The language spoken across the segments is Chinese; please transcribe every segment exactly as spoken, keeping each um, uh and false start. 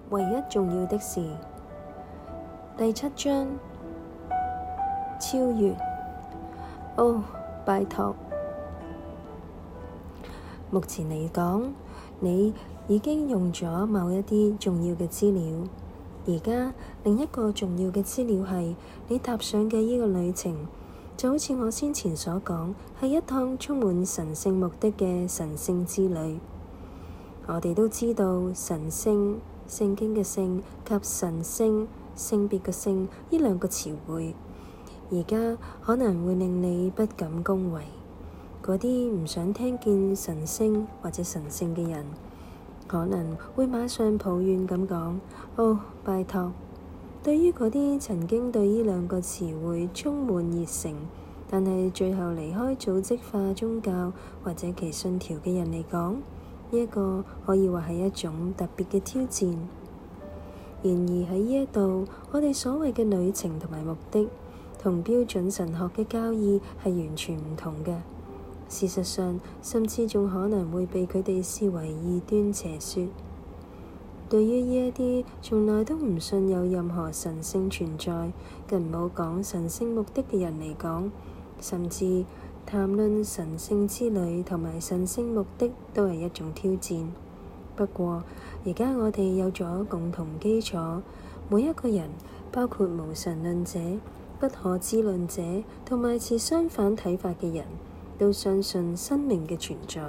唯一重要的事，第七章，超越。哦，拜託。目前嚟講，你已經用咗某一啲重要嘅資料。而家另一個重要嘅資料係你踏上嘅呢個旅程，就好似我先前所講，係一趟充滿神聖目的嘅神聖之旅。我哋都知道神聖、聖經嘅聖及神聖、性別嘅性呢兩個詞彙，而家可能會令你不敢恭維。嗰啲唔想聽見神聖或者神聖嘅人，可能會馬上抱怨咁講：哦，拜託！對於嗰啲曾經對呢兩個詞彙充滿熱誠，但係最後離開組織化宗教或者其信條嘅人嚟講，呢一個可以話係一種特別嘅挑戰。然而喺呢一度，我哋所謂嘅旅程同埋目的，同標準神學嘅教義係完全唔同嘅。事實上，甚至仲可能會被佢哋視為異端邪說。對於呢一啲從來都唔信有任何神聖存在，更唔好講神聖目的嘅人嚟講，甚至談論神聖之旅同埋神聖目的都係一種挑戰。不過，而家我哋有咗共同基礎，每一個人，包括無神論者、不可知論者同埋持相反睇法嘅人，都相信生命嘅存在，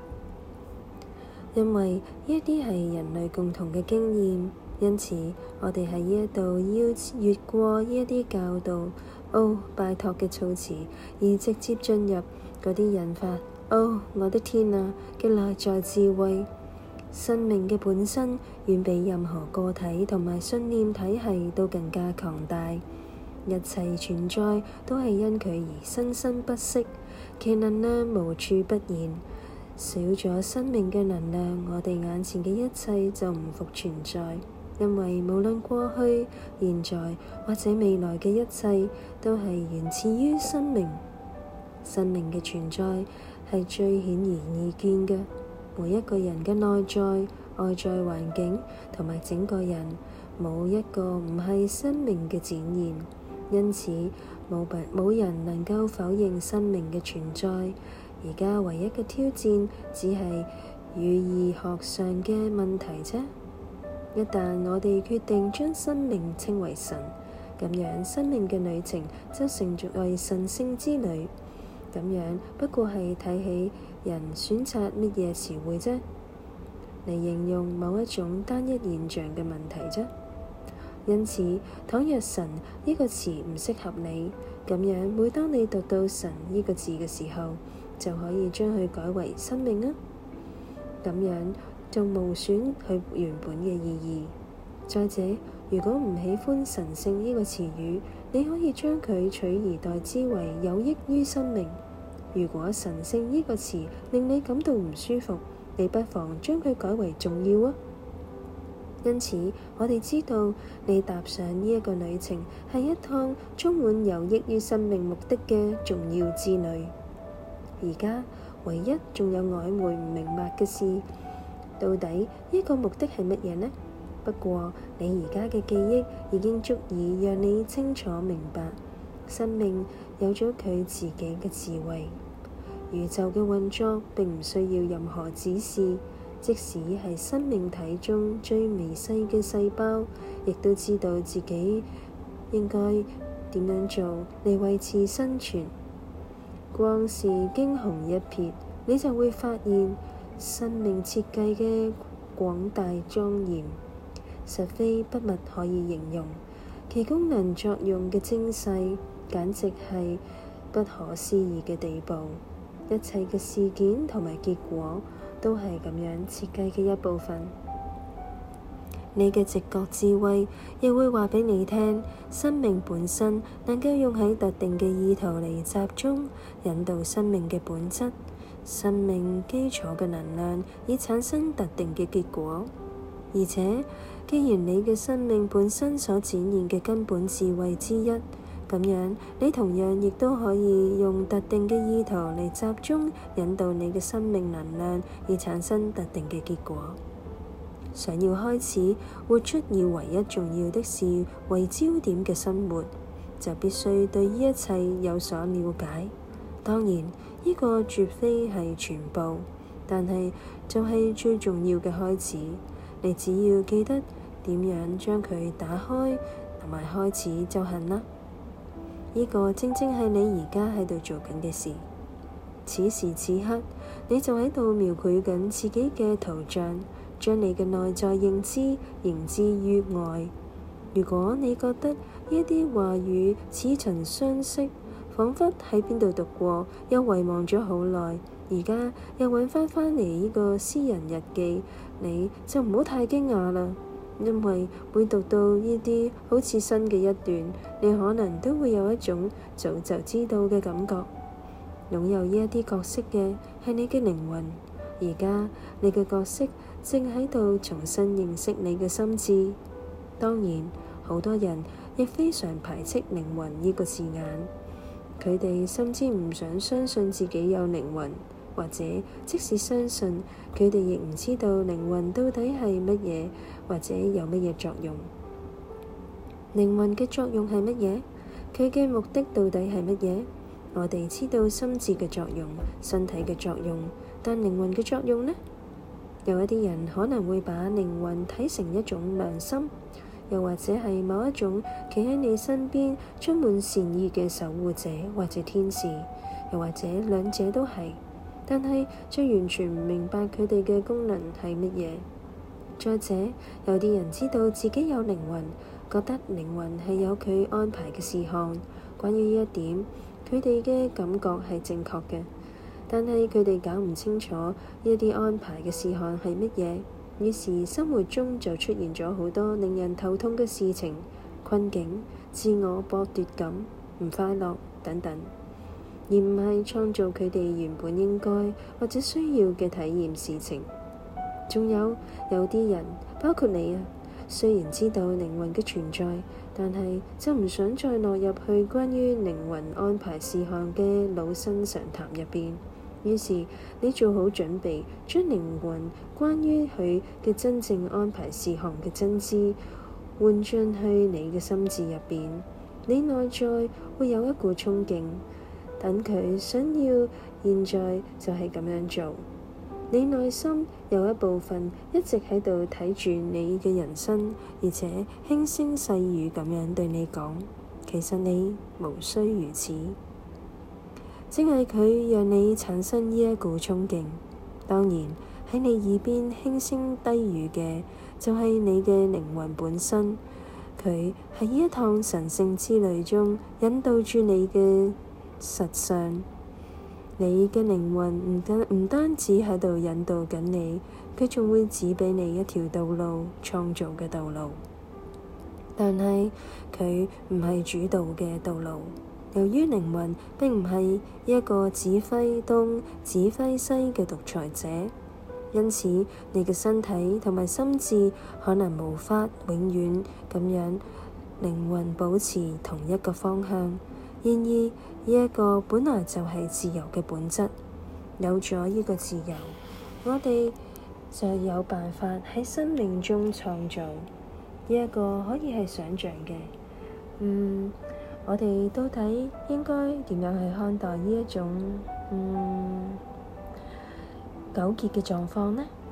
因為呢一啲係人類共同嘅經驗。因此，我哋喺呢一度要越過呢一啲教導哦，拜託嘅措辭，而直接進入嗰啲引發哦，我的天啊嘅內在智慧。生命嘅本身遠比任何個體同埋信念體系都更加強大。一切存在都係因佢而生生不息，其能量無處不現。少咗生命嘅能量，我哋眼前嘅一切就唔復存在。因為無論過去、現在或者未來嘅一切，都係源自於生命。生命嘅存在係最顯而易見嘅。每一個人嘅內在、外在環境同埋整個人，冇一個唔係生命嘅展現。因此，冇冇人能夠否認生命嘅存在。而家唯一嘅挑戰，只係語義學上嘅問題啫。一旦我哋決定將生命稱為神，咁樣生命嘅旅程就成為神聖之旅。咁樣不過係睇起人選擇乜嘢詞彙啫，嚟形容某一種單一現象嘅問題啫。因此，倘若神呢個詞唔適合你，咁樣每當你讀到神呢個字嘅時候，就可以將佢改為生命啊。咁樣就無損佢原本嘅意義。再者，如果唔喜歡神聖呢個詞語，你可以將佢取而代之為有益於生命。如果神聖呢個詞令你感到唔舒服，你不妨將佢改為重要啊。因此，我哋知道你踏上呢一個旅程係一趟充滿有益於生命目的嘅重要之旅。而家唯一仲有曖昧唔明白嘅事，到底呢個目的係乜嘢呢？不過你而家嘅記憶已經足以讓你清楚明白，生命有咗佢自己嘅智慧。宇宙嘅運作並唔需要任何指示，即使係生命體中最微細嘅細胞，亦都知道自己應該點樣做嚟維持生存。光是驚鴻一瞥，你就會發現生命設計嘅廣大莊嚴，實非筆墨可以形容。其功能作用嘅精細，簡直係不可思議嘅地步。一切嘅事件同埋結果，都係咁樣設計嘅一部分。你嘅直覺智慧亦會話俾你聽，生命本身能夠用喺特定嘅意圖嚟集中引導生命嘅本質，生命基礎嘅能量以產生特定嘅結果。而且，既然你嘅生命本身所展現嘅根本智慧之一，咁樣你同樣亦都可以用特定嘅意圖嚟集中引導你嘅生命能量，以產生特定嘅結果。 想要開始活出以唯一重要的事為焦點嘅生活，就必須對呢一切有所了解。當然，呢個絕非係全部，但係就係最重要嘅開始。你只要記得點樣將佢打開同埋開始就行啦。呢個正正係你而家喺度做緊嘅事。此時此刻，你就喺度描繪緊自己嘅圖像，將你嘅內在認知形之於外。如果你覺得呢啲話語似曾相識，彷彿喺邊度讀過，又遺忘咗好耐，而家又揾翻返嚟呢個私人日記，你就唔好太驚訝啦。因為每讀到呢啲好似新嘅一段，你可能都會有一種早就知道嘅感覺。擁有呢一啲角色嘅係你嘅靈魂，而家你嘅角色正喺度重新認識你嘅心智。當然，好多人亦非常排斥靈魂呢個字眼，佢哋甚至唔想相信自己有靈魂，或者即使相信，佢哋亦唔知道靈魂到底係乜嘢，或者有乜嘢作用。靈魂嘅作用係乜嘢？佢嘅目的到底係乜嘢？我哋知道心智嘅作用、身體嘅作用，但靈魂嘅作用呢？有一啲人可能會把靈魂睇成一種良心，又或者係某一種企喺你身邊充滿善意嘅守護者或者天使，又或者兩者都係，但係卻完全唔明白佢哋嘅功能係乜嘢。再者，有啲人知道自己有靈魂，覺得靈魂係有佢安排嘅事項。關於呢一點，佢哋嘅感覺係正確嘅，但係佢哋搞唔清楚呢一啲安排嘅事項係乜嘢，於是生活中就出現咗好多令人頭痛嘅事情、困境、自我剝奪感、唔快樂等等，而唔係創造佢哋原本應該或者需要嘅體驗事情。仲有有啲人，包括你啊，雖然知道靈魂嘅存在，但係就唔想再落入去關於靈魂安排事項嘅老生常談入邊。於是你做好準備，將靈魂關於佢嘅真正安排事項嘅真知換進去你嘅心智入邊。你內在會有一股衝勁，等佢想要現在就係咁樣做。你內心有一部分一直喺度睇住你嘅人生，而且輕聲細語咁樣對你講，其實你無需如此。正係佢讓你產生呢一股衝勁。當然喺你耳邊輕聲低語嘅就係你嘅靈魂本身，佢喺呢一趟神聖之旅中引導住你嘅實相。你嘅靈魂唔單唔單止喺度引導緊你，佢仲會指俾你一條道路，創造嘅道路。但係佢唔係主導嘅道路。由於靈魂並唔係一個指揮東、指揮西嘅獨裁者，因此你嘅身體同埋心智可能無法永遠咁樣靈魂保持同一個方向。然而，呢一個本來就係自由嘅本質。有咗呢個自由，我哋就有辦法喺生命中創造。呢一個可以係想像嘅。嗯，我哋到底應該點樣去看待呢一種嗯糾結嘅狀況呢？